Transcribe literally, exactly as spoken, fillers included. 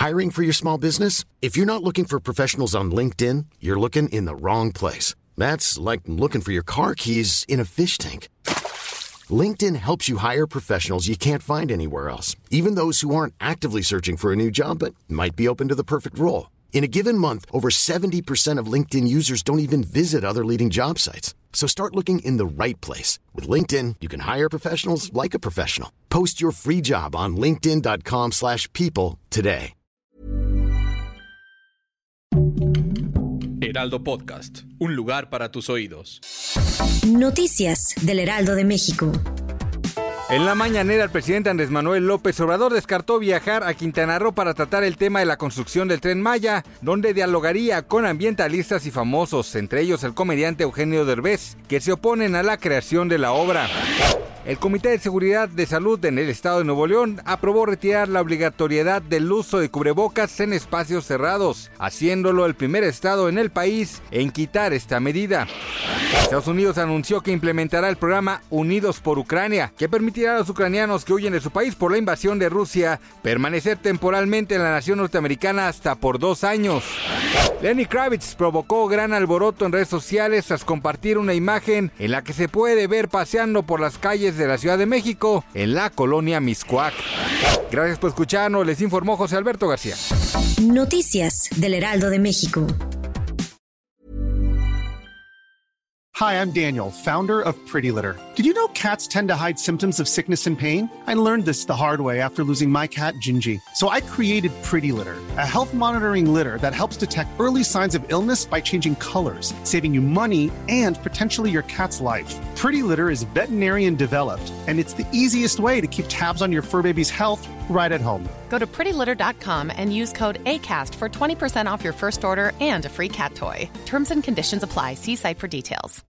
Hiring for your small business? If you're not looking for professionals on LinkedIn, you're looking in the wrong place. That's like looking for your car keys in a fish tank. LinkedIn helps you hire professionals you can't find anywhere else, even those who aren't actively searching for a new job but might be open to the perfect role. In a given month, over seventy percent of LinkedIn users don't even visit other leading job sites. So start looking in the right place. With LinkedIn, you can hire professionals like a professional. Post your free job on linkedin dot com slash people today. Heraldo Podcast, un lugar para tus oídos. Noticias del Heraldo de México. En la mañanera, el presidente Andrés Manuel López Obrador descartó viajar a Quintana Roo para tratar el tema de la construcción del Tren Maya, donde dialogaría con ambientalistas y famosos, entre ellos el comediante Eugenio Derbez, que se oponen a la creación de la obra. El Comité de Seguridad de Salud en el Estado de Nuevo León aprobó retirar la obligatoriedad del uso de cubrebocas en espacios cerrados, haciéndolo el primer estado en el país en quitar esta medida. Estados Unidos anunció que implementará el programa Unidos por Ucrania, que permitirá a los ucranianos que huyen de su país por la invasión de Rusia permanecer temporalmente en la nación norteamericana hasta por dos años. Lenny Kravitz provocó gran alboroto en redes sociales tras compartir una imagen en la que se puede ver paseando por las calles de la Ciudad de México en la colonia Mixcoac. Gracias por escucharnos, les informó José Alberto García. Noticias del Heraldo de México. Hi, I'm Daniel, founder of Pretty Litter. Did you know cats tend to hide symptoms of sickness and pain? I learned this the hard way after losing my cat, Gingy. So I created Pretty Litter, a health monitoring litter that helps detect early signs of illness by changing colors, saving you money and potentially your cat's life. Pretty Litter is veterinarian developed, and it's the easiest way to keep tabs on your fur baby's health right at home. Go to pretty litter dot com and use code ACAST for twenty percent off your first order and a free cat toy. Terms and conditions apply. See site for details.